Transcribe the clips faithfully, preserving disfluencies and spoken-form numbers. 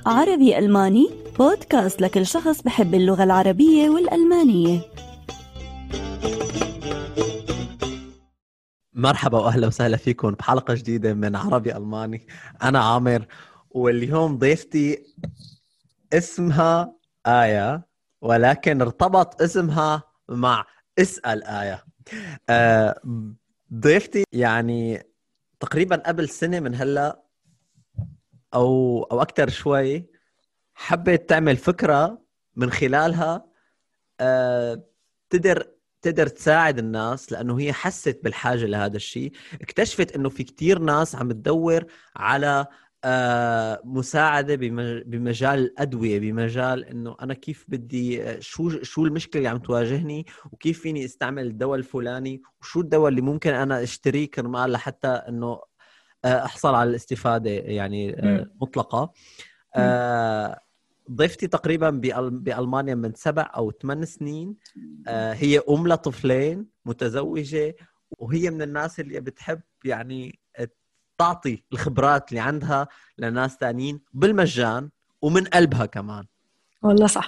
عربي ألماني بودكاست لكل شخص بحب اللغة العربية والألمانية. مرحبا وأهلا وسهلا فيكم بحلقة جديدة من عربي ألماني. أنا عامر، واليوم ضيفتي اسمها آية، ولكن ارتبط اسمها مع اسأل آية. آه، ضيفتي يعني تقريبا قبل سنة من هلأ أو أو أكتر شوي حبت تعمل فكرة من خلالها آه، تقدر تقدر تساعد الناس، لأنه هي حست بالحاجة لهذا الشيء. اكتشفت أنه في كتير ناس عم تدور على آه، مساعدة بمجال الأدوية، بمجال أنه أنا كيف بدي شو شو المشكلة اللي عم تواجهني، وكيف فيني استعمل الدواء الفلاني، وشو الدواء اللي ممكن أنا اشتريه كرمال لحتى أنه أحصل على الاستفادة يعني مطلقة. آه، ضيفتي تقريبا بألمانيا من سبع أو ثمان سنين. آه، هي أم لطفلين، متزوجة، وهي من الناس اللي بتحب يعني تعطي الخبرات اللي عندها لناس تانيين بالمجان ومن قلبها كمان. والله صح.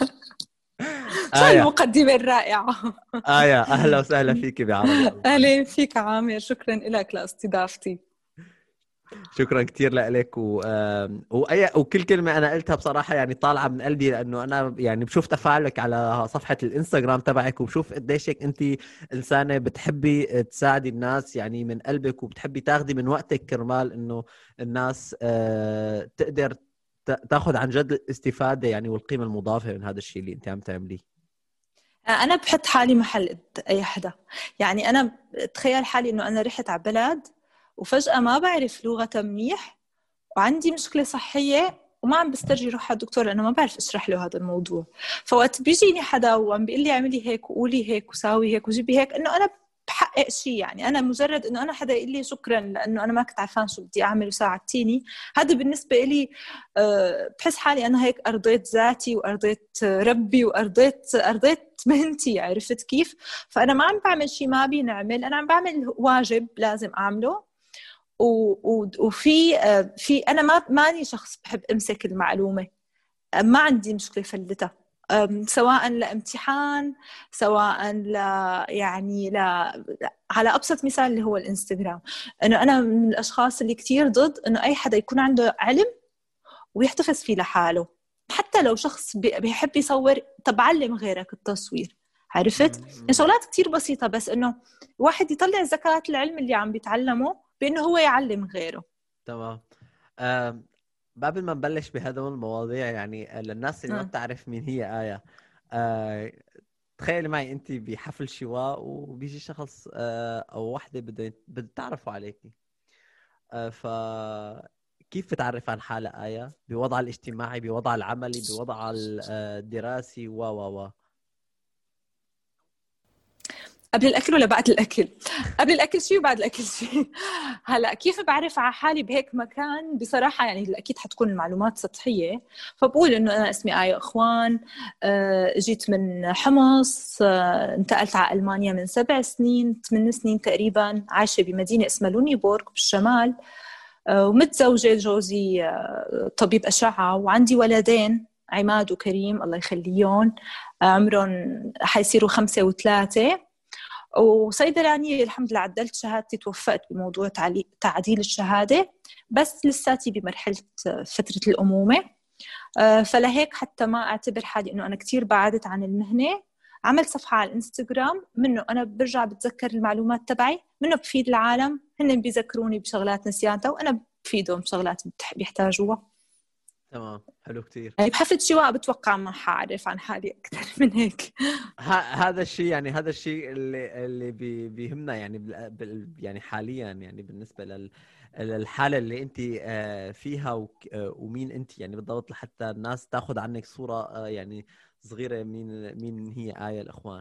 شو آية. المقدمة الرائعة. آية، أهلا وسهلا فيك بعربي. أهلا فيك عامر، شكرا لك لاستضافتي. شكرا كتير لك و... وأي... وكل كلمة أنا قلتها بصراحة يعني طالعة من قلبي، لأنه أنا يعني بشوف تفاعلك على صفحة الإنستغرام تبعك، وبشوف قديشك أنت إنسانة بتحبي تساعدي الناس يعني من قلبك، وبتحبي تاخدي من وقتك كرمال إنه الناس آه، تقدر تاخد عن جد الاستفادة يعني والقيمة المضافة من هذا الشيء اللي أنت عم تعمليه. أنا بحط حالي محل أي حدا، يعني أنا تخيل حالي إنه أنا رحت على بلد وفجأة ما بعرف لغة منيح وعندي مشكلة صحية وما عم بسترجي روح على الدكتور لأنه ما بعرف أشرح له هذا الموضوع. فوقت بيجيني حدا وعم بيقول لي اعملي هيك وقولي هيك وساوي هيك وجيبي هيك، إنه أنا بحقق شيء. يعني أنا مجرد إنه أنا حدا يقول لي شكرا لأنه أنا ما كنت عارفان شو بدي أعمل وساعدتيني، هذا بالنسبة لي أه بحس حالي أنا هيك أرضيت ذاتي وأرضيت ربي وأرضيت أرضيت مهنتي. عرفت كيف؟ فأنا ما عم بعمل شيء ما بي نعمل، أنا عم بعمل واجب لازم أعمله. وفي في أنا ما ماني شخص بحب أمسك المعلومة، ما عندي مشكلة فلتها، سواء لامتحان سواء ل يعني ل على أبسط مثال اللي هو الإنستغرام. إنه أنا من الأشخاص اللي كتير ضد إنه أي حدا يكون عنده علم ويحتفظ فيه لحاله، حتى لو شخص بيحب يصور. طب علم غيرك التصوير، عرفت؟ يعني شغلات كتير بسيطة، بس إنه واحد يطلع زكاة العلم اللي عم بيتعلمه بإنه هو يعلم غيره. تمام. أم قبل ما نبلش بهذول المواضيع، يعني للناس اللي ما بتعرف مين هي آية، أه تخيلي معي أنت بحفل شواء وبيجي شخص أه أو واحدة بده بده تعرفوا عليكي، أه فكيف بتعرف عن حالة آية بوضع الاجتماعي، بوضع العملي، بوضع الدراسي و و و قبل الأكل ولا بعد الأكل؟ قبل الأكل شيء وبعد الأكل شيء. هلأ كيف بعرف على حالي بهيك مكان؟ بصراحة يعني أكيد حتكون المعلومات سطحية، فبقول إنه أنا اسمي آية أخوان، جيت من حمص، انتقلت على ألمانيا من سبع سنين ثمان سنين تقريبا، عايشة بمدينة اسمها لونيبورغ بالشمال، ومتزوجة، جوزي طبيب أشعة، وعندي ولدين عماد وكريم الله يخليهم، عمرهم حيصيروا خمسة وثلاثة، وصيدلانية الحمد لله عدلت شهادتي، توفقت بموضوع تعديل الشهادة، بس لساتي بمرحلة فترة الأمومة. فلهيك حتى ما أعتبر حالي إنه أنا كتير بعدت عن المهنة، عملت صفحة على الإنستغرام منه أنا برجع بتذكر المعلومات تبعي، منه بفيد العالم، هن بيذكروني بشغلات نسيانتها وأنا بفيدهم بشغلات بيحتاجوها. تمام، حلو كتير. يعني بحفلة شواء بتوقع ما حعرف عن حالي أكثر من هيك. هذا الشيء يعني هذا الشيء اللي اللي بي بيهمنا يعني بال يعني حاليا، يعني بالنسبة لل الحالة اللي أنت فيها ومين أنت يعني بالضبط، لحتى الناس تأخذ عنك صورة يعني صغيرة مين مين هي آية الأخوان.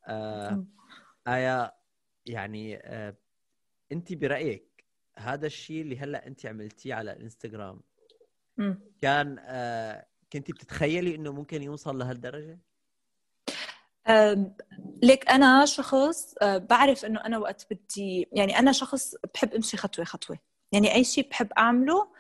آية، يعني أنت برأيك هذا الشيء اللي هلأ أنت عملتيه على الإنستغرام كان كنتي بتتخيلي إنه ممكن يوصل لهالدرجة؟ ليك أنا شخص بعرف إنه أنا وقت بدي، يعني أنا شخص بحب أمشي خطوة خطوة، يعني أي شيء بحب أعمله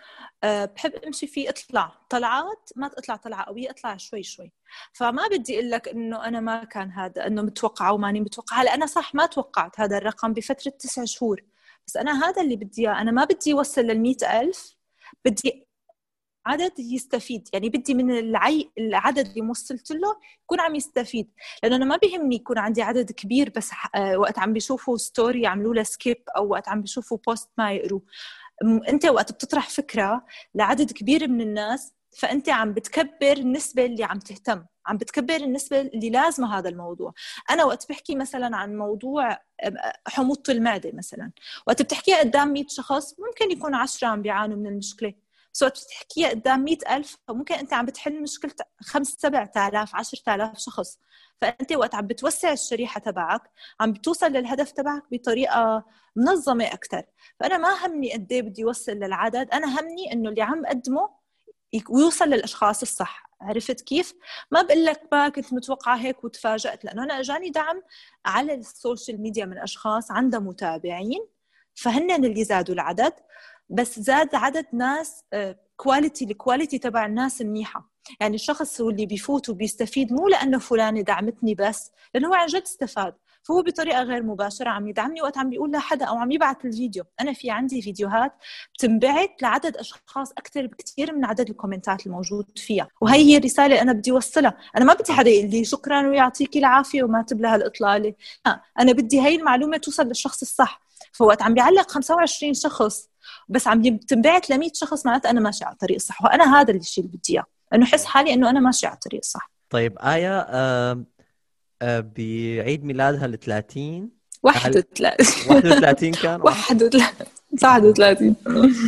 بحب امشي فيه اطلع طلعات، ما اطلع طلعه قويه، اطلع شوي شوي. فما بدي اقول لك انه انا ما كان هذا انه متوقعه وماني متوقعه. هلا انا صح ما توقعت هذا الرقم بفتره تسع شهور، بس انا هذا اللي بدي اياه. انا ما بدي اوصل للمئة ألف، بدي عدد يستفيد. يعني بدي من العي... العدد اللي وصلت له يكون عم يستفيد، لأنه أنا ما بيهمني يكون عندي عدد كبير بس وقت عم بيشوفوا ستوري يعملوا له سكيب، أو وقت عم بيشوفوا بوست ما يقروا. أنت وقت بتطرح فكرة لعدد كبير من الناس، فأنت عم بتكبر النسبة اللي عم تهتم، عم بتكبر النسبة اللي لازمة هذا الموضوع. أنا وقت بحكي مثلا عن موضوع حموضة المعدة مثلا، وقت بتحكيها قدام مئة شخص ممكن يكون عشرة عم بيعانوا من المشكلة، سو بتحكيها قدام مئة ألف فممكن أنت عم بتحل مشكلة خمس سبع آلاف عشرة آلاف شخص. فأنت وقت عم بتوسع الشريحة تبعك عم بتوصل للهدف تبعك بطريقة منظمة أكتر. فأنا ما همني قد ايه بدي أوصل للعدد، أنا همني إنه اللي عم أقدمه ويوصل للأشخاص الصح. عرفت كيف؟ ما بقول لك ما كنت متوقعة هيك وتفاجأت، لأنه أنا أجاني دعم على السوشيال ميديا من أشخاص عندها متابعين، فهن اللي زادوا العدد، بس زاد عدد ناس كواليتي. الكواليتي تبع الناس منيحة. يعني الشخص هو اللي بيفوت وبيستفيد مو لأنه فلانة دعمتني بس، لأنه هو عن جد استفاد، فهو بطريقة غير مباشرة عم يدعمني وقت عم بيقول لحدا أو عم يبعت الفيديو. أنا في عندي فيديوهات بتنبعت لعدد أشخاص أكتر بكتير من عدد الكومنتات الموجود فيها، وهي هي الرسالة أنا بدي وصلها. أنا ما بدي حدا يقول لي شكرا ويعطيكي العافية وما تبلها الإطلالة، أنا بدي هاي المعلومة توصل للشخص الصح. فوقت عم بيعلق خمسة وعشرين شخص بس عم بتنبعت ل مئة شخص، معناته أنا ماشي على الطريق الصح. وأنا هذا الشيء اللي بدي إياه، إنه حس حالي إنه أنا ماشي على الطريق الصح. طيب آية، آه آه بعيد ميلادها الثلاثين واحد وثلاثين واحد وثلاثين كان واحد وثلاثين واحد وثلاثين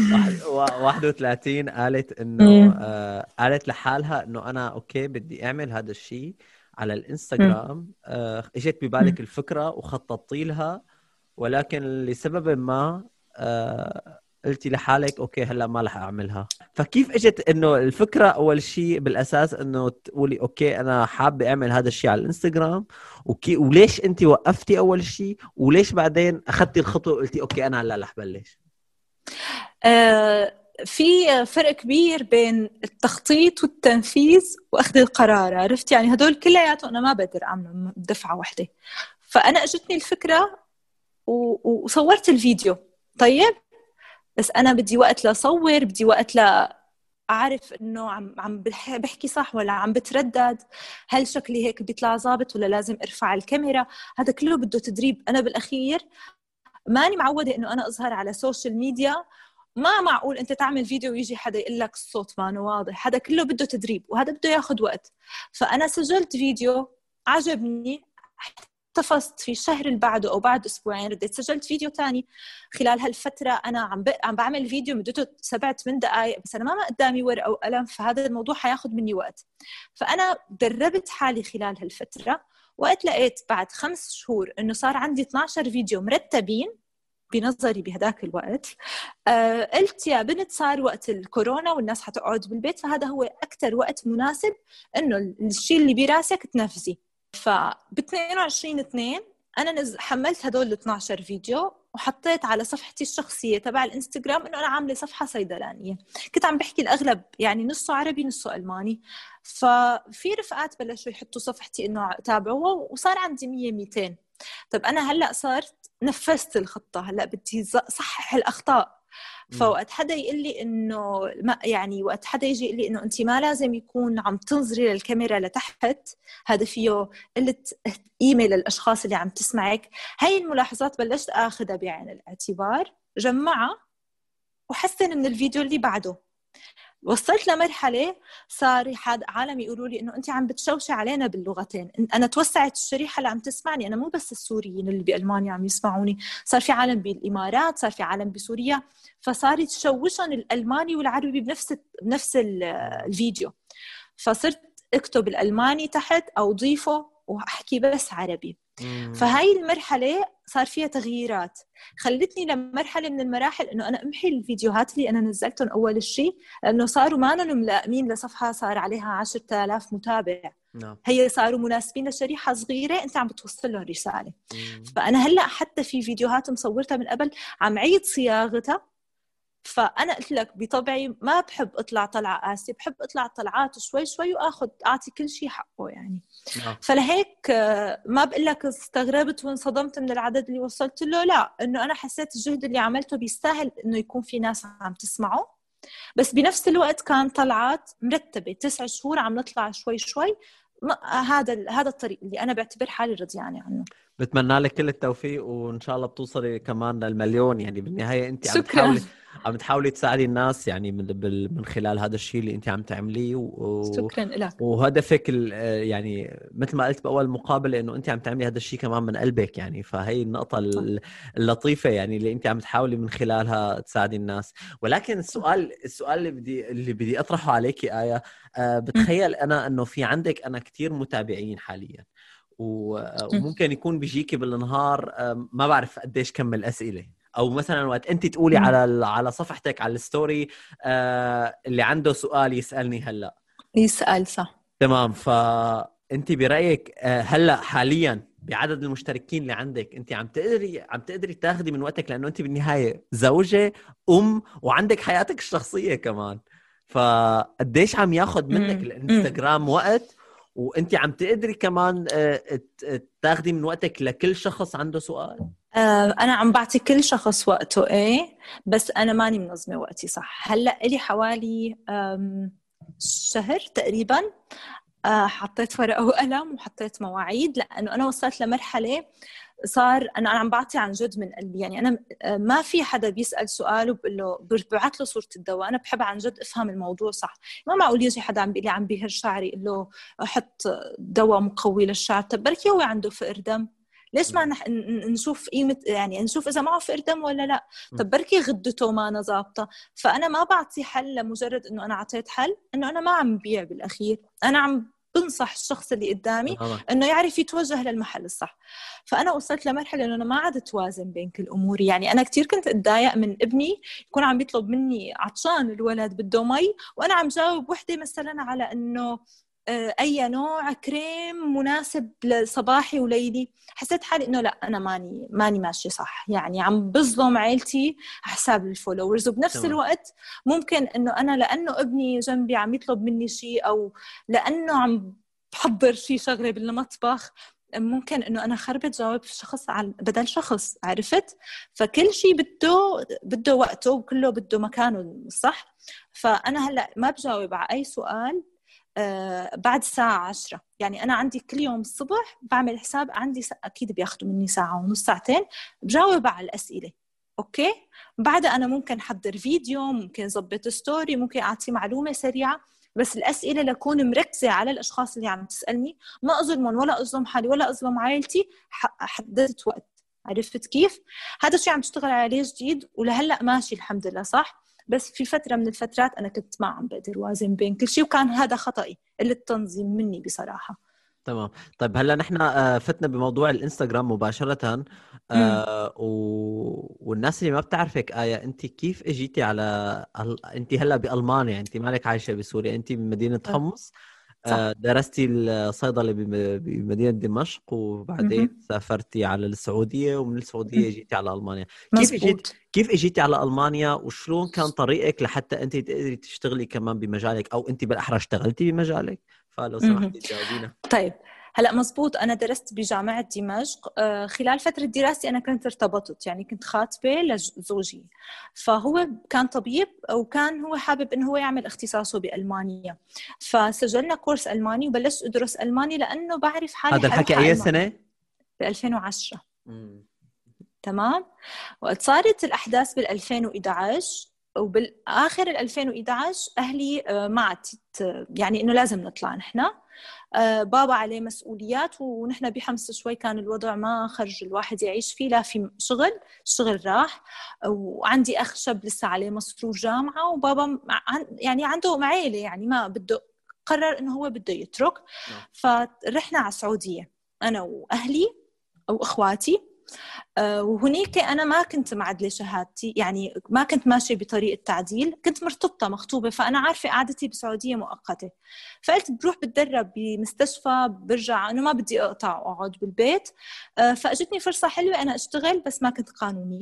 واحد وثلاثين قالت إنه آه قالت لحالها إنه أنا أوكي بدي أعمل هذا الشيء على الإنستغرام. آه إجت ببالك الفكرة وخططتي لها، ولكن لسبب ما آه قلتي لحالك اوكي هلا ما رح اعملها. فكيف اجت انه الفكره اول شيء بالاساس انه تقولي اوكي انا حابه اعمل هذا الشيء على الانستغرام، وكي وليش انت وقفتي اول شيء، وليش بعدين اخذتي الخطوه وقلتي اوكي انا هلا رح بلش؟ آه في فرق كبير بين التخطيط والتنفيذ واخذ القرار، عرفت؟ يعني هدول كلياتهم انا ما بقدر اعملهم بدفعه واحده. فانا اجتني الفكره وصورت الفيديو. طيب بس أنا بدي وقت لأصور، بدي وقت لأعرف إنه عم عم بحكي صح ولا عم بتردد، هل شكلي هيك بيطلع ظابط ولا لازم أرفع الكاميرا. هذا كله بده تدريب. أنا بالأخير ماني معودة إنه أنا أظهر على سوشيال ميديا. ما معقول أنت تعمل فيديو ويجي حدا يقول لك الصوت ما واضح. هذا كله بده تدريب وهذا بده ياخد وقت. فأنا سجلت فيديو عجبني، احتفظت في الشهر اللي بعده أو بعد أسبوعين رديت سجلت فيديو تاني. خلال هالفترة أنا عم ب... عم بعمل فيديو مدته سبعة ثمان دقائق، بس أنا ما قدامي ورقة وقلم، فهذا الموضوع حياخد مني وقت. فأنا دربت حالي خلال هالفترة. وقت لقيت بعد خمس شهور إنه صار عندي اثنا عشر فيديو مرتبين بنظري بهداك الوقت، آه قلت يا بنت صار وقت الكورونا والناس حتقعد بالبيت، فهذا هو أكتر وقت مناسب إنه الشيء اللي براسك تنفذي. فب اثنين وعشرين اثنين أنا نز... حملت هدول اثنا عشر فيديو وحطيت على صفحتي الشخصية تبع الانستغرام إنه أنا عاملة صفحة صيدلانية. كنت عم بحكي الأغلب يعني نصه عربي نصه ألماني. ففي رفقات بلشوا يحطوا صفحتي إنه تابعوها وصار عندي مية ميتين. طب أنا هلأ صارت نفذت الخطة، هلأ بدي صحح الأخطاء. فوقت حدا يقول لي انه ما يعني وقت حدا يجي يقول لي انه انت ما لازم يكون عم تنظري للكاميرا لتحت، هذا فيه قله قيمه للاشخاص اللي عم تسمعك. هاي الملاحظات بلشت اخذها بعين الاعتبار، جمعها وحسن من الفيديو اللي بعده. وصلت لمرحله صار حد عالم يقولوا لي انه انت عم بتشوشي علينا باللغتين. انا توسعت الشريحه اللي عم تسمعني، انا مو بس السوريين اللي بالمانيا عم يسمعوني، صار في عالم بالامارات، صار في عالم بسوريا، فصار يتشوشون الالماني والعربي بنفس بنفس الفيديو. فصرت اكتب الالماني تحت او ضيفه واحكي بس عربي. فهاي المرحله صار فيها تغييرات خلتني لمرحله من المراحل انه انا امحي الفيديوهات اللي انا نزلتهم اول شيء، لانه صاروا ما لهم ملائمين لصفحه صار عليها عشرة آلاف متابع. نعم. هي صاروا مناسبين لشريحه صغيره انت عم بتوصل لهم رساله. مم. فانا هلا حتى في فيديوهات مصورتها من قبل عم عيد صياغتها، فأنا قلت لك بطبعي ما بحب أطلع طلعة قاسية، بحب أطلع طلعات شوي شوي وأخذ أعطي كل شيء حقه يعني. نعم. فلهيك ما بقول لك استغربت وانصدمت من العدد اللي وصلت له، لا، إنه أنا حسيت الجهد اللي عملته بيستاهل إنه يكون في ناس عم تسمعه. بس بنفس الوقت كان طلعات مرتبة تسع شهور عم نطلع شوي شوي. هذا هذا الطريق اللي أنا بعتبر حالي رضيانة عنه. بتمنى لك كل التوفيق وإن شاء الله بتوصلي كمان للمليون. يعني بالنهاية أنت عم شكراً. تحاولي عم تحاولي تساعدي الناس يعني من بال- من خلال هذا الشيء اللي أنت عم تعمليه و... شكراً لك. وهدفك ال... يعني مثل ما قلت بأول مقابلة إنه أنت عم تعملي هذا الشيء كمان من قلبك يعني. فهي النقطة ال- اللطيفة يعني اللي أنت عم تحاولي من خلالها تساعدي الناس. ولكن السؤال السؤال اللي بدي اللي بدي أطرحه عليكي آية، أه بتخيل أنا إنه في عندك أنا كتير متابعين حالياً، وممكن يكون بيجيكي بالنهار ما بعرف قديش كم الأسئلة، أو مثلا وقت أنت تقولي على على صفحتك على الستوري اللي عنده سؤال يسألني هلأ يسأل. صح. تمام. فأنت برأيك هلأ حاليا بعدد المشتركين اللي عندك أنت عم تقدري عم تقدري تاخدي من وقتك، لأنه أنت بالنهاية زوجة أم وعندك حياتك الشخصية كمان، فقديش عم ياخد منك الانستغرام وقت، وانت عم تقدري كمان تاخدي من وقتك لكل شخص عنده سؤال؟ انا عم بعطي كل شخص وقته، ايه، بس انا ماني منظمه وقتي صح. هلا لي حوالي شهر تقريبا حطيت ورقه وقلم وحطيت مواعيد، لانه انا وصلت لمرحله صار انا عم بعطي عن جد من قلبي. يعني انا ما في حدا بيسال سؤال وبقول له ببعث له صوره الدواء، انا بحب عن جد افهم الموضوع صح. ما معقول يجي حدا عم بيقول لي عم بيهر شعري اقول له احط دواء مقوي للشعر، طب بركي هو عنده فقر دم، ليش ما نح... نشوف قيمه، يعني نشوف اذا معه فقر دم ولا لا، طب بركي غدته ما أنا ظابطه. فانا ما بعطي حل لمجرد انه انا اعطيت حل، انه انا ما عم بيع بالاخير، انا عم بنصح الشخص اللي قدامي انه يعرف يتوجه للمحل الصح. فانا وصلت لمرحله انه انا ما عاد توازن بين كل اموري. يعني انا كثير كنت اتضايق من ابني يكون عم بيطلب مني، عطشان الولد بده مي، وانا عم جاوب وحده مثلا على انه اي نوع كريم مناسب لصباحي وليلي. حسيت حالي انه لا، انا ماني ماني ماشي صح، يعني عم بظلم عيلتي حساب الفولورز. وبنفس تمام. الوقت ممكن انه انا لانه ابني جنبي عم يطلب مني شيء، او لانه عم بحضر شيء شغله بالمطبخ، ممكن انه انا خربت جاوب شخص على بدل شخص، عرفت؟ فكل شيء بده بده وقته وكله بده مكانه صح. فانا هلا ما بجاوب على اي سؤال آه بعد الساعة عشرة. يعني أنا عندي كل يوم الصبح بعمل حساب عندي س... أكيد بياخدوا مني ساعة ونص ساعتين بجاوب على الأسئلة، أوكي؟ بعدها أنا ممكن حضر فيديو، ممكن زبط ستوري، ممكن أعطي معلومة سريعة، بس الأسئلة لكون مركزة على الأشخاص اللي عم تسألني، ما أظلمهم ولا أظلم حالي ولا أظلم عائلتي. حددت وقت، عرفت كيف؟ هذا الشيء عم تشتغل عليه جديد ولهلأ ماشي الحمد لله صح. بس في فترة من الفترات أنا كنت ما عم بقدر وازن بين كل شيء، وكان هذا خطأي اللي التنظيم مني بصراحة. تمام. طيب هلا نحن فتنا بموضوع الانستغرام مباشرة، آه و... والناس اللي ما بتعرفك آية، انت كيف اجيتي على انت هلا بألمانيا، انت مالك عايشة بسوريا، انت بمدينة حمص، آه درستي الصيدلة بمدينة دمشق، وبعدين م- سافرتي على السعودية، ومن السعودية اجيتي على ألمانيا. كيف اجيت كيف اجيتي على ألمانيا، وشلون كان طريقك لحتى انت تقدري تشتغلي كمان بمجالك، او انت بالاحرى اشتغلتي بمجالك؟ فلو سمحتي تجاوبينا. طيب هلا مزبوط، انا درست بجامعه دمشق. خلال فتره دراستي انا كنت ارتبطت، يعني كنت خاطبه لزوجي، فهو كان طبيب وكان هو حابب انه هو يعمل اختصاصه بالمانيا، فسجلنا كورس الماني وبلشت ادرس الماني لانه بعرف حالي. هذا الحكي اي سنه؟ ب ألفين وعشرة. تمام. وقت صارت الاحداث بال ألفين وإحدى عشر، وبالاخر ال ألفين وإحدى عشر اهلي ما يعني انه لازم نطلع نحن. بابا عليه مسؤوليات ونحن بحمص شوي كان الوضع ما خرج الواحد يعيش فيه، لا في شغل، الشغل راح، وعندي أخ شاب لسه عليه مصروف جامعة، وبابا يعني عنده عائلة، يعني ما بده، قرر إنه هو بده يترك. فرحنا على السعودية أنا وأهلي وإخواتي. وهنيك أنا ما كنت معدلة شهادتي، يعني ما كنت ماشية بطريقة تعديل، كنت مرتبطة مخطوبة، فأنا عارفة قعدتي بسعودية مؤقتة، فقلت بروح بتدرب بمستشفى برجع، أنا ما بدي أقطع وأقعد بالبيت. فأجتني فرصة حلوة أنا أشتغل، بس ما كنت قانونية،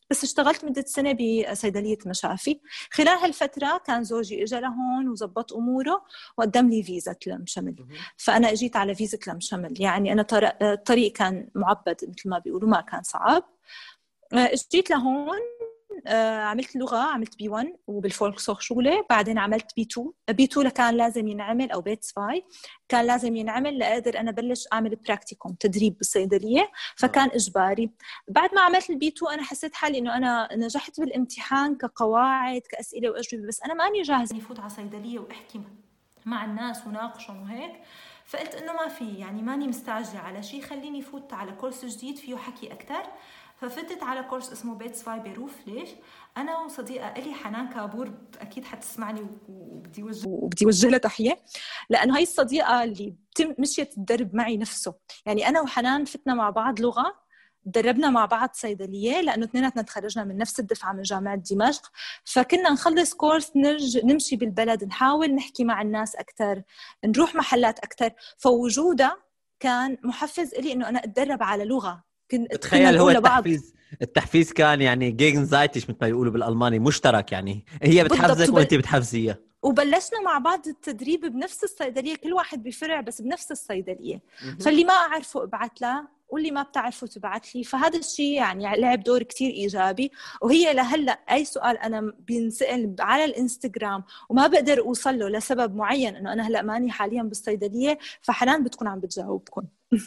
بس اشتغلت مدة سنة بصيدلية مشافي. خلال هالفترة كان زوجي إجا لهون وزبط أموره وقدم لي فيزا لم شمل. فأنا أجيت على فيزا لم شمل. يعني أنا الطريق كان معبد مثل ما بيقولوا، ما كان صعب. اجيت لهون، عملت لغة، عملت بي واحد وبالفولكسhochschule، بعدين عملت بي تو. بي تو كان لازم ينعمل، أو بيت سفاي كان لازم ينعمل لأقدر أنا بلش أعمل براكتيكوم، تدريب بالصيدلية، فكان إجباري. بعد ما عملت البي تو أنا حسيت حالي إنه أنا نجحت بالامتحان كقواعد كأسئلة وأجوبة، بس أنا ماني جاهزة يفوت على صيدلية وأحكي مع الناس وناقشهم وهيك. فقلت إنه ما في، يعني ماني مستعجلة على شيء، خليني فوت على كورس جديد فيه حكي أكتر. ففتت على كورس اسمه بيت سفاي بيروف. ليش؟ أنا وصديقة إلي حنان كابور، أكيد حتسمعني وبدي وجه وبدي وجه لها تحية، لأنه هاي الصديقة اللي مشيت تدرب معي نفسه. يعني أنا وحنان فتنا مع بعض لغة، دربنا مع بعض صيدلية، لأنه اثنيناتنا تخرجنا من نفس الدفعة من جامعة دمشق. فكنا نخلص كورس نرج نمشي بالبلد، نحاول نحكي مع الناس أكتر، نروح محلات أكتر. فوجودها كان محفز إلي إنه أنا أتدرب على لغة. تخيل هو التحفيز التحفيز كان يعني Gegenseitig مثل ما يقولوا بالألماني، مشترك، يعني هي بتحفزك وانت بتحفزيها. وبلشنا مع بعض التدريب بنفس الصيدلية، كل واحد بفرع بس بنفس الصيدلية. فاللي ما أعرفه ابعت له، واللي ما بتعرفه تبعت لي. فهذا الشيء يعني لعب دور كتير إيجابي. وهي لهلأ أي سؤال أنا بينسأل على الإنستغرام وما بقدر أوصل له لسبب معين، إنه أنا هلأ ماني حاليا بالصيدلية، فحنان بتكون عم بتجاوبكم.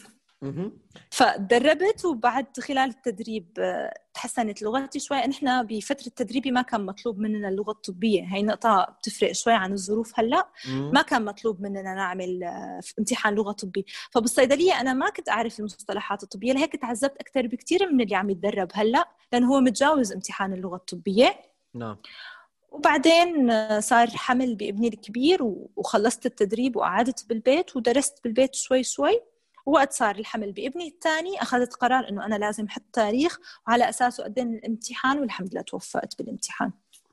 فدربت، وبعد خلال التدريب تحسنت لغتي شوي. نحن بفترة تدريبي ما كان مطلوب مننا اللغة الطبية، هاي نقطة بتفرق شوي عن الظروف. هلأ ما كان مطلوب مننا نعمل امتحان لغة طبي. فبالصيدلية أنا ما كنت أعرف المصطلحات الطبية، لهيك تعذبت أكثر بكتير من اللي عم يتدرب هلأ، لأنه هو متجاوز امتحان اللغة الطبية. نعم. وبعدين صار حمل بابني الكبير وخلصت التدريب وقعدت بالبيت ودرست بالبيت شوي شوي. وقت صار الحمل بابني الثاني أخذت قرار إنه أنا لازم أحط تاريخ وعلى أساسه أقدم الامتحان، والحمد لله توفقت بالامتحان.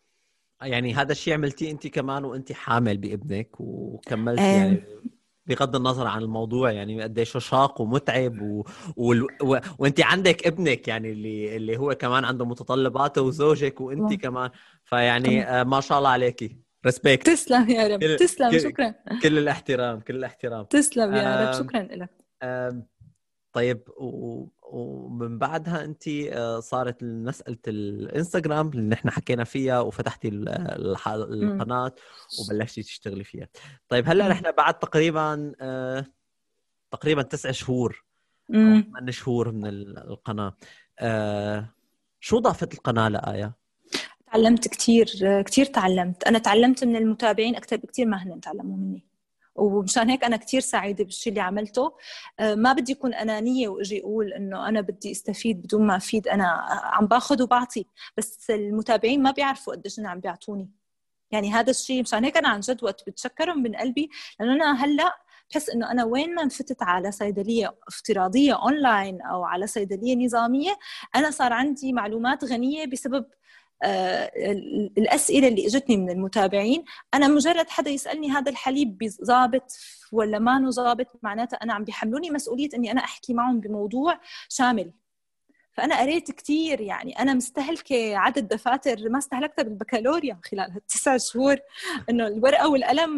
يعني هذا الشيء عملتيه أنت كمان وأنت حامل بابنك وكملت أه. يعني بغض النظر عن الموضوع، يعني قديش شاق ومتعب و... و... و... وانت عندك ابنك يعني اللي اللي هو كمان عنده متطلباته، وزوجك وانت كمان، فيعني آه ما شاء الله عليكي، ريسبكت. تسلم يا رب. كل... تسلم كل... شكرا. كل الاحترام كل الاحترام. تسلم يا آه... رب. شكرا لك. آه... طيب و... ومن بعدها انت صارت مسألة الانستغرام اللي نحن حكينا فيها، وفتحتي الح... القناة وبلشتي تشتغلي فيها. طيب هلا نحن بعد تقريبا آه... تقريبا تسع شهور او ثمان شهور من القناة، آه... شو ضافت القناة لآية؟ تعلمت كتير كتير تعلمت. انا تعلمت من المتابعين اكثر بكتير ما هن تعلموا مني، ومشان هيك أنا كتير سعيدة بالشيء اللي عملته. ما بدي أكون أنانية وأجي أقول إنه أنا بدي استفيد بدون ما أفيد. أنا عم باخد وبعطي، بس المتابعين ما بيعرفوا قديش أنا عم بيعطوني. يعني هذا الشيء مشان هيك أنا عن جد وقت بتشكرهم من قلبي، لأنه أنا هلأ بحس إنه أنا وين ما انفتت على صيدلية افتراضية أونلاين أو على صيدلية نظامية، أنا صار عندي معلومات غنية بسبب آه الأسئلة اللي اجتني من المتابعين. أنا مجرد حدا يسألني هذا الحليب ضابط ولا ما نو ضابط، معناته أنا عم بيحملوني مسؤولية أني أنا أحكي معهم بموضوع شامل. فأنا قريت كتير، يعني أنا مستهلكة عدد دفاتر ما استهلكتها بالبكالوريا خلال هالتسع شهور. إنه الورقة والقلم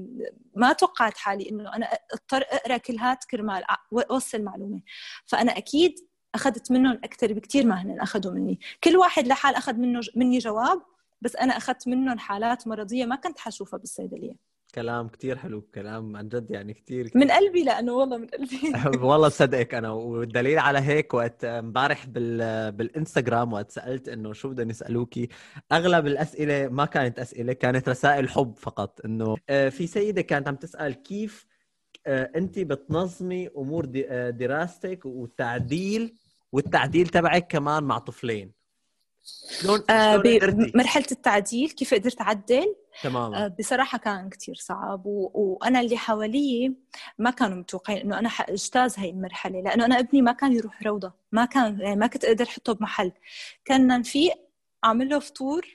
ما توقعت حالي إنه أنا أضطر أقرأ كل هات كرمال أوصل معلومة. فأنا أكيد أخذت منهم أكثر بكتير ما هن أخذوا مني. كل واحد لحال أخذ منه مني جواب، بس أنا أخذت منهم حالات مرضية ما كنت حشوفها بالصيدلية. كلام كتير حلو، كلام عن جد يعني كتير, كتير من قلبي، لأنه والله من قلبي والله صدقك أنا. والدليل على هيك وقت مبارح بال... بالإنستغرام وقت سألت إنه شو بدنا نسألوكي، أغلب الأسئلة ما كانت أسئلة، كانت رسائل حب فقط. إنه في سيدة كانت عم تسأل كيف أنت بتنظمي أمور دراستك والتعديل والتعديل تبعك كمان مع طفلين. شلون آه بمرحلة التعديل كيف قدرت أعدل؟ تماما. آه بصراحة كان كتير صعب، و... وأنا اللي حوالي ما كانوا متوقعين إنه أنا حأجتاز هاي المرحلة، لأنه أنا ابني ما كان يروح روضة، ما كان يعني ما كنت أقدر حطه بمحل. كنا نفيق أعمل له فطور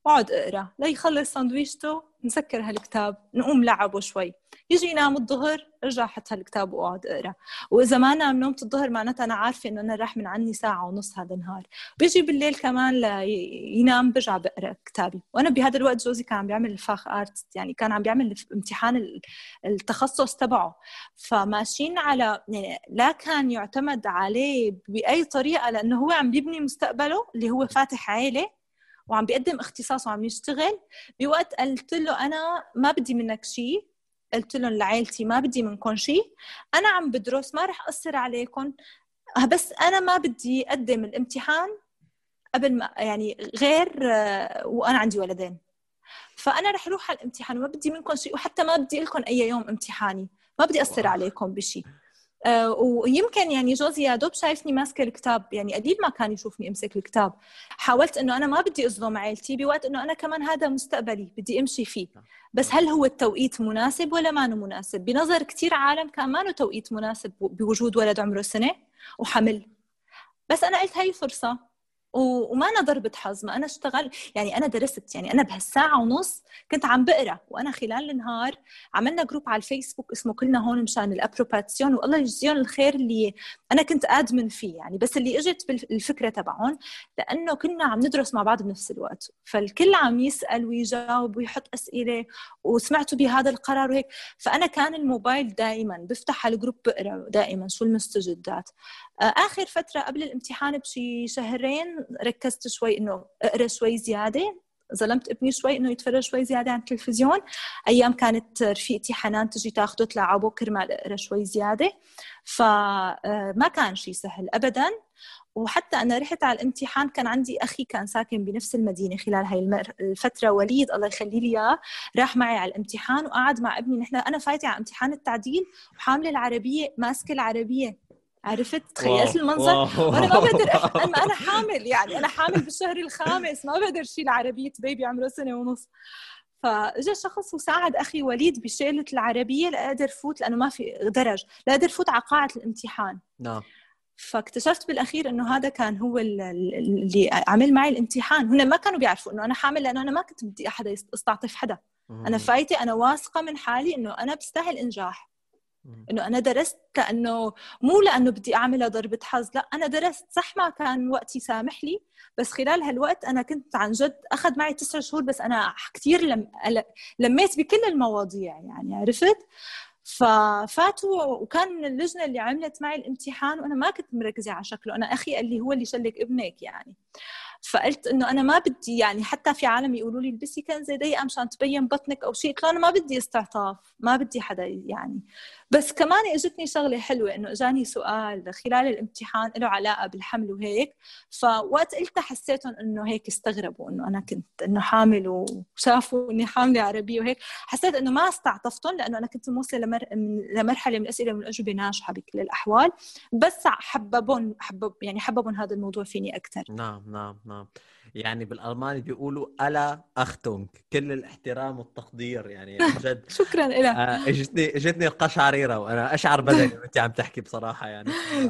وقعد اقرا ليخلص ساندويشته، نسكر هالكتاب، نقوم لعبه شوي، يجي ينام الظهر، ارجع احط هالكتاب واقعد اقرا. واذا ما نام نومة الظهر معناتها انا عارفه انه انا راح من عني ساعه ونص هذا النهار. بيجي بالليل كمان لينام برجع بقرا كتابي. وانا بهذا الوقت جوزي كان عم بيعمل الفاخ ارت، يعني كان عم بيعمل امتحان التخصص تبعه، فماشيين على يعني لا كان يعتمد عليه باي طريقه، لانه هو عم بيبني مستقبله اللي هو فاتح عائله وعم بيقدم اختصاص وعم يشتغل. بوقت قلت له انا ما بدي منك شيء، قلت لهم لعائلتي ما بدي منكم شيء، أنا عم بدرس ما رح أثر عليكم، بس أنا ما بدي أقدم الامتحان قبل ما يعني غير وأنا عندي ولدين، فأنا رح أروح على الامتحان وما بدي منكم شيء، وحتى ما بدي لكم أي يوم امتحاني، ما بدي أثر عليكم بشيء. أه ويمكن يعني جوزي يا دوب شايفني ماسكه الكتاب، يعني قليل ما كان يشوفني امسك الكتاب. حاولت انه انا ما بدي اظلم عائلتي بوقت انه انا كمان هذا مستقبلي بدي امشي فيه، بس هل هو التوقيت مناسب ولا ما هو مناسب؟ بنظر كتير عالم كان ما له توقيت مناسب بوجود ولد عمره سنه وحمل، بس انا قلت هاي فرصه وما أنا ضربة حظ، ما أنا اشتغل يعني أنا درست، يعني أنا بهالساعة ونص كنت عم بقرأ، وأنا خلال النهار عملنا جروب على الفيسبوك اسمه كلنا هون مشان الأبروباتسيون، والله يجزيهم الخير اللي أنا كنت أدمن فيه يعني، بس اللي إجت بالفكرة تبعهم لأنه كنا عم ندرس مع بعض بنفس الوقت، فالكل عم يسأل ويجاوب ويحط أسئلة وسمعتوا بهذا القرار وهيك. فأنا كان الموبايل دائما بفتح على الجروب بقرأ دائما شو المستجدات. آخر فترة قبل الامتحان بشي شهرين ركزت شوي إنه أقرأ شوي زيادة، ظلمت ابني شوي إنه يتفرج شوي زيادة عن التلفزيون. أيام كانت رفيقتي حنان تجي تاخده تلعبه كرمال أقرأ شوي زيادة، فما كان شي سهل أبداً. وحتى أنا رحت على الامتحان كان عندي أخي كان ساكن بنفس المدينة خلال هاي الفترة، وليد الله يخلي لي إياه، راح معي على الامتحان وقعد مع ابني. نحن أنا فايتة على امتحان التعديل وحاملة العربية ماسكة العربية، عرفت؟ تخيلت المنظر وانا ما بقدر أح... انا انا حامل، يعني انا حامل بالشهر الخامس، ما بقدر شيل عربيه بيبي عمره سنه ونص. فاجى شخص وساعد اخي وليد بشيله العربيه لاقدر فوت، لانه ما في درج لاقدر فوت على قاعه الامتحان. نعم. فاكتشفت بالاخير انه هذا كان هو اللي عمل معي الامتحان. هنا ما كانوا بيعرفوا انه انا حامل، لانه انا ما كنت بدي احد استعطف حدا، انا فايته انا واثقه من حالي انه انا بستاهل انجاح، إنه أنا درست لأنه مو لأنه بدي أعملها ضربة حظ، لا أنا درست صح، ما كان وقتي سامح لي، بس خلال هالوقت أنا كنت عن جد أخذ معي تسع شهور، بس أنا كتير لم... لميت بكل المواضيع يعني، عرفت؟ ففاتوا وكان من اللجنة اللي عملت معي الامتحان وأنا ما كنت مركزة على شكله. أنا أخي قال لي هو اللي شلك ابنك يعني، فقلت إنه أنا ما بدي يعني، حتى في عالم يقولوا لي البسي كنزة ضيقة مشان تبين بطنك أو شيء، قلت له أنا ما بدي استعطاف، ما بدي حدا يعني. بس كمان اجتني شغله حلوه انه اجاني سؤال خلال الامتحان له علاقه بالحمل وهيك، فوقت قلت حسيتهم انه هيك استغربوا انه انا كنت انه حامل وشافوا اني حامله عربيه وهيك، حسيت انه ما استعطفتهم لانه انا كنت موصله لمر... لمرحله من الاسئله والاجوبه ناجحه بكل الاحوال، بس حببون حبب يعني حببون هذا الموضوع فيني اكثر. نعم نعم نعم. يعني بالألماني بيقولوا ألا أختونك، كل الاحترام والتقدير يعني عن جد. شكرا لك. آه اجتني اجتني القشعريرة وانا اشعر بدني وانت عم تحكي بصراحة يعني.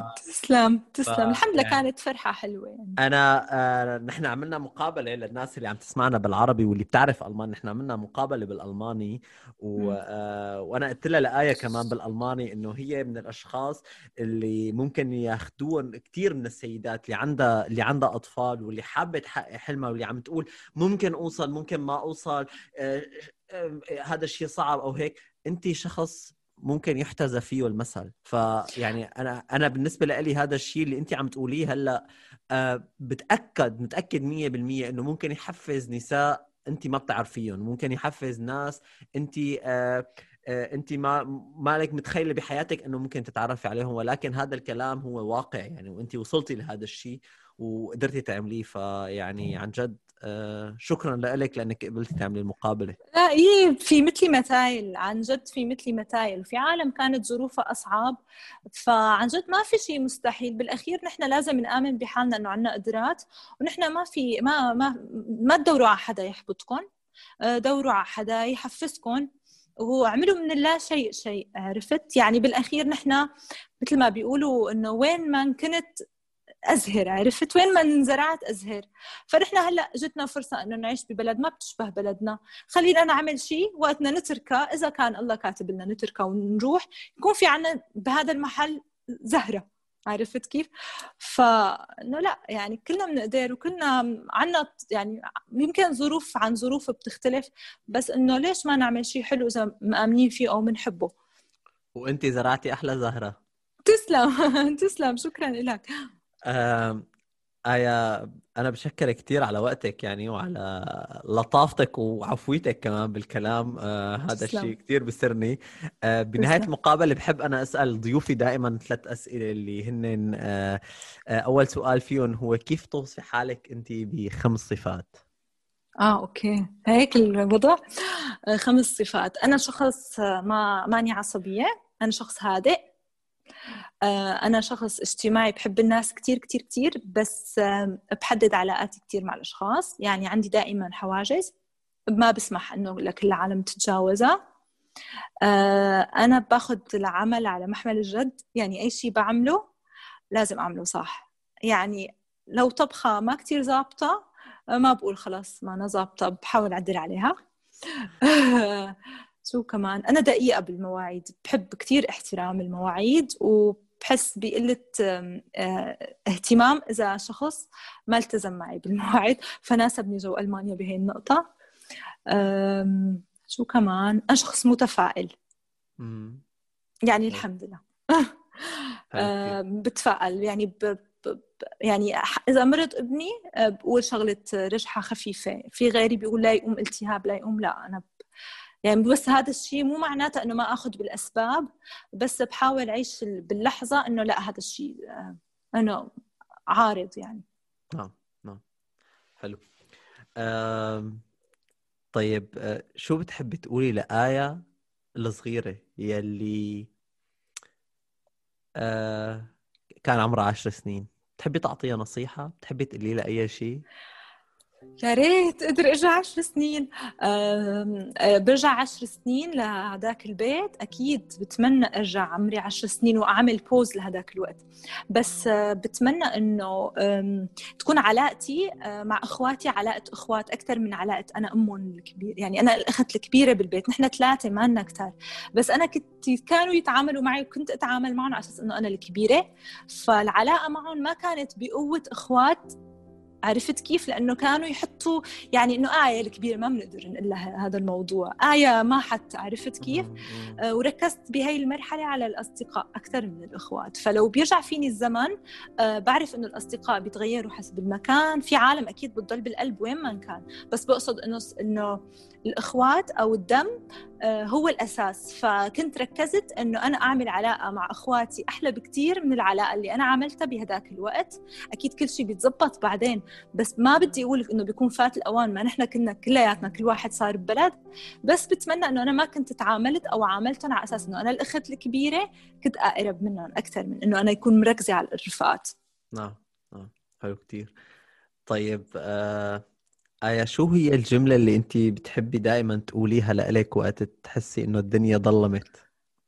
تسلم تسلم. الحمد لله يعني كانت فرحة حلوة يعني. انا آه نحن عملنا مقابلة للناس اللي عم تسمعنا بالعربي واللي بتعرف ألماني، نحن عملنا مقابلة بالألماني و... آه وانا قلت لها لآية كمان بالألماني انه هي من الاشخاص اللي ممكن ياخذون كثير من السيدات اللي عندها اللي عندها اطفال واللي حابة تحقق حلمها واللي عم تقول ممكن اوصل ممكن ما اوصل، آه هذا الشيء صعب او هيك، انت شخص ممكن يحتذى فيه المثل. فيعني انا انا بالنسبه لي هذا الشيء اللي انت عم تقوليه هلا أه بتاكد متاكد مية بالمية انه ممكن يحفز نساء انت ما بتعرفيهم، ممكن يحفز ناس انت أه أه انت ما مالك متخيله بحياتك انه ممكن تتعرفي عليهم، ولكن هذا الكلام هو واقع يعني، وانت وصلتي لهذا الشيء وقدرتي تعمليه. فيعني عن جد آه شكرا لك لأنك قبلتي تعملي المقابلة. لا إيه، في مثلي متايل عن جد، في مثلي متايل، وفي عالم كانت ظروفها أصعب، فعن جد ما في شيء مستحيل. بالأخير نحن لازم نآمن بحالنا إنه عنا قدرات، ونحن ما في ما ما ما تدوروا على حدا يحبطكم، دوروا على حدا يحفزكم وعملوا من الله شيء شيء، عرفت يعني. بالأخير نحن مثل ما بيقولوا إنه وين ما كنت أزهر، عرفت وين ما انزرعت أزهر. فنحن هلأ جتنا فرصة إنه نعيش ببلد ما بتشبه بلدنا، خلينا نعمل شيء وقتنا نتركه، إذا كان الله كاتب لنا نتركه ونروح يكون في عنا بهذا المحل زهرة، عرفت كيف؟ فإنه لا يعني كلنا بنقدر وكلنا عنا يعني يمكن ظروف عن ظروف بتختلف، بس إنه ليش ما نعمل شيء حلو إذا مآمنين فيه أو منحبه. وأنت زرعتي أحلى زهرة. تسلم تسلم، شكرا لك. آه آية، أنا بشكر كتير على وقتك يعني وعلى لطافتك وعفويتك كمان بالكلام. آه هذا الشيء كتير بسرني. آه بنهاية تسلم. المقابلة بحب أنا أسأل ضيوفي دائما ثلاث أسئلة اللي هن آه آه أول سؤال فيهم هو كيف توصفي حالك أنت بخمس صفات؟ آه أوكي هيك الوضع. آه خمس صفات. أنا شخص ما ماني عصبية، أنا شخص هادئ، أنا شخص اجتماعي بحب الناس كتير كتير كتير، بس بحدد علاقاتي كتير مع الأشخاص، يعني عندي دائما حواجز ما بسمح إنه لكل العالم تتجاوزها. أنا باخد العمل على محمل الجد، يعني أي شيء بعمله لازم أعمله صح. يعني لو طبخة ما كتير زابطة ما بقول خلاص ما أنا زابطة، بحاول أعدل عليها. شو كمان، أنا دقيقة بالمواعيد، بحب كتير احترام المواعيد، وبحس بقلة اهتمام إذا شخص ما التزم معي بالمواعيد، فناسبني جو ألمانيا بهي النقطة. شو كمان، أنا شخص متفائل يعني الحمد لله. بتفائل يعني ب... ب... يعني إذا مرض ابني بقول شغلة رجحة خفيفة، في غيري بيقول لا يقوم التهاب لا يقوم، لا أنا ب... يعني بس هذا الشيء مو معناته إنه ما أخذ بالأسباب، بس بحاول أعيش باللحظة إنه لا هذا الشيء أنا عارض يعني. نعم نعم حلو. أم... طيب شو بتحبي تقولي لآية الصغيرة يلي أه... كان عمرها عشر سنين؟ بتحبي تعطيها نصيحة؟ بتحبي تقولي لها أي شيء؟ يا ريت أقدر أرجع عشر سنين. برجع عشر سنين لهداك البيت أكيد بتمنى أرجع عمري عشر سنين وأعمل بوز لهداك الوقت، بس بتمنى إنه تكون علاقتي مع إخواتي علاقة إخوات أكثر من علاقة أنا أمهم الكبير. يعني أنا الأخت الكبيرة بالبيت، نحن ثلاثة ما لنا كتار، بس أنا كنت كانوا يتعاملوا معي وكنت أتعامل معهم على أساس إنه أنا الكبيرة، فالعلاقة معهم ما كانت بقوة إخوات، عرفت كيف؟ لأنه كانوا يحطوا يعني إنه آية الكبيرة ما بنقدر نقول لها هذا الموضوع، آية ما حتى، عرفت كيف؟ آه وركزت بهاي المرحلة على الأصدقاء أكثر من الأخوات. فلو بيرجع فيني الزمن آه بعرف إنه الأصدقاء بيتغيروا حسب المكان، في عالم أكيد بتضل بالقلب وين ما كان، بس بقصد إنه إنه الأخوات أو الدم هو الأساس. فكنت ركزت إنه أنا أعمل علاقة مع أخواتي أحلى بكتير من العلاقة اللي أنا عملتها بهداك الوقت. أكيد كل شيء بيتزبط بعدين، بس ما بدي أقولك إنه بيكون فات الأوان، ما نحن كنا كلياتنا كل واحد صار ببلد، بس بتمنى إنه أنا ما كنت تعاملت أو عاملتهم على أساس إنه أنا الأخت الكبيرة، كنت أقرب منهم أكثر من إنه أنا يكون مركزة على الرفقات. نعم نعم حلو كتير. طيب آه آية، شو هي الجملة اللي أنت بتحبي دائما تقوليها لإلك وقت تحسي إنه الدنيا ظلمت؟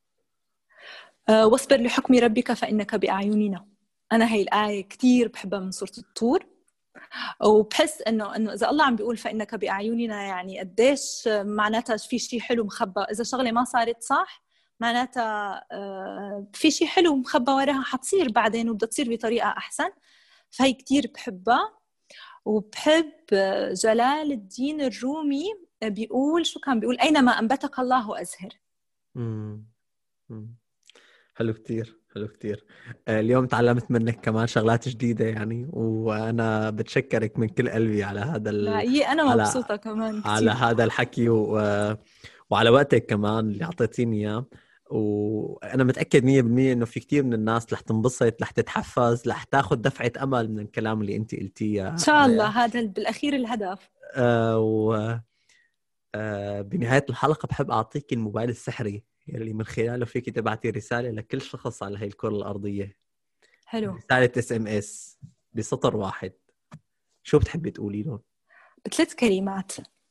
أه واصبر لحكم ربك فإنك بأعيننا. أنا هاي الآية كتير بحبها من سورة الطور، وبحس إنه إنه إذا الله عم بيقول فإنك بأعيننا، يعني قديش معناتها في شيء حلو مخبى. إذا شغلة ما صارت صح معناتها أه في شيء حلو مخبى وراها حتصير بعدين وبدها تصير بطريقة أحسن. فهي كتير بحبها. وبحب جلال الدين الرومي بيقول، شو كان بيقول؟ أينما أنبتك الله أزهر. مم. مم. حلو كتير حلو كتير. اليوم تعلمت منك كمان شغلات جديدة يعني، وأنا بتشكرك من كل قلبي على هذا ال... لا إيه أنا على... مبسوطة كمان كتير على هذا الحكي و... وعلى وقتك كمان اللي أعطيتيني إياه. وأنا متأكد مية بالمية إنه في كتير من الناس رح تنبسط، رح تتحفز، رح تاخد دفعة أمل من الكلام اللي أنت قلتيه. إن شاء الله هذا بالأخير الهدف. آه و آه بنهاية الحلقة بحب أعطيك الموبايل السحري اللي من خلاله فيك تبعتي رسالة لكل شخص على هاي الكرة الأرضية. حلو. رسالة اس ام اس بسطر واحد. شو بتحبي تقولي له؟ بثلاث كلمات: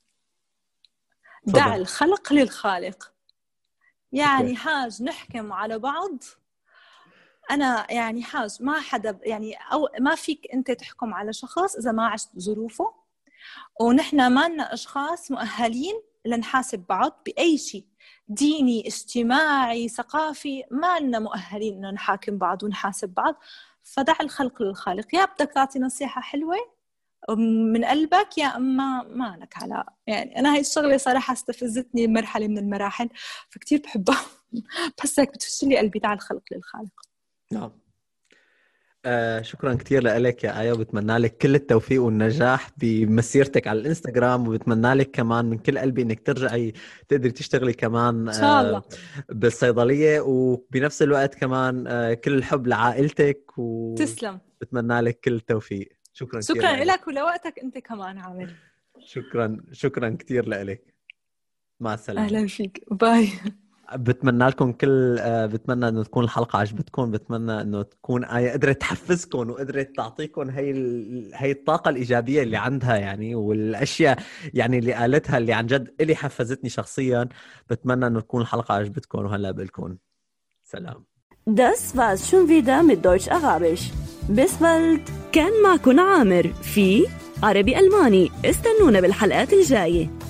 دع الخلق للخالق. يعني حاج نحكم على بعض أنا يعني حاج ما حدا يعني أو ما فيك أنت تحكم على شخص إذا ما عشت ظروفه، ونحن ما لنا أشخاص مؤهلين لنحاسب بعض بأي شيء ديني اجتماعي ثقافي، ما لنا مؤهلين إنه نحاكم بعض ونحاسب بعض. فدع الخلق للخالق، يا بدك تعطي نصيحة حلوة من قلبك يا أما ما لك على. يعني أنا هاي الشغلة صراحة استفزتني مرحلة من المراحل فكتير بحبها. بس هيك بتفشلي قلبي، دع الخلق للخالق. نعم. آه شكرا كتير لك يا آية، وبتمنى لك كل التوفيق والنجاح بمسيرتك على الانستغرام، وبتمنى لك كمان من كل قلبي انك ترجعي تقدري تشتغلي كمان إن شاء الله. آه بالصيدلية، وبنفس الوقت كمان آه كل الحب لعائلتك و... تسلم. بتمنى لك كل التوفيق. شكرا كتير شكرا لك ولوقتك انت كمان عامر. شكرا شكرا كتير لك. مع السلامة. اهلا فيك، باي. بتمنى لكم كل بتمنى انه تكون الحلقه عجبتكم، بتمنى انه تكون آية قدرت تحفزكم وقدرت تعطيكم هي ال... هي الطاقه الايجابيه اللي عندها يعني، والاشياء يعني اللي قالتها اللي عن جد اللي حفزتني شخصيا. بتمنى انه تكون الحلقه عجبتكم، وهلا بقولكم سلام. Das war's schon wieder mit Deutsch Arabisch. Bis bald. كان معكم عامر في عربي ألماني. استنونا بالحلقات الجاية.